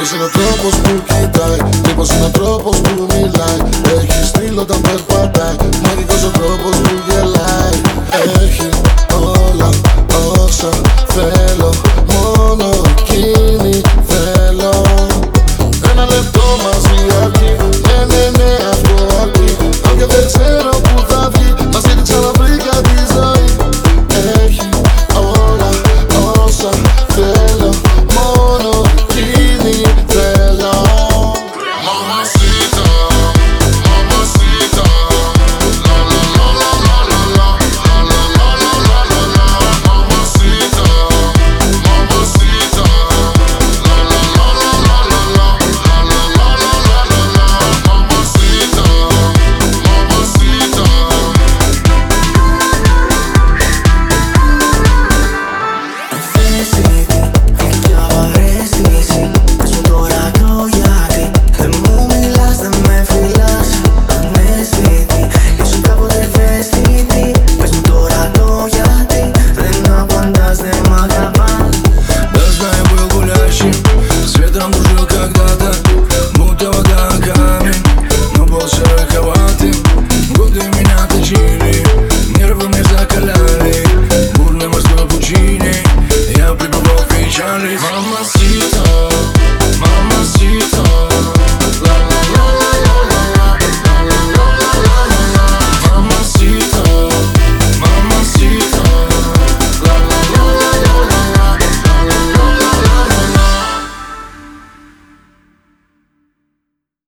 Μαγικός είναι ο τρόπος που κοιτάει, τύπος είναι ο τρόπος που μιλάει. Έχει στυλ όταν περπατάει, μαγικός ο τρόπος που γελάει. Έχει όλα όσα θέλω, μόνο εκείνη θέλω. Ένα λεπτό μαζί αρκεί, ναι, αυτό αρκεί. Αν και δεν ξέρω που θα βγει, μαζί τη ξαναβρήκα τη ζωή. Έχει όλα όσα θέλω, μόνο εκείνη θέλω. Mamacita, mamacita, la la la la la la la, la la la la la la. Mamacita, mamacita, la la la la la la la, la la la la la la la. Mamacita, mamacita. Πια βαρέστηση, πες μου τώρα το γιατί. Δεν μου μιλάς, δεν με φιλάς, αναισθητή. Ήσουν κάποτε ευαίσθητη, πες μου τώρα το γιατί. Δεν απαντάς, δεν μ' αγαπάς. Да знаю, был гулящим, светом дружил когда-то, будто вода камень, но был шероховатым. Годы меня точили, нервы мне закаляли.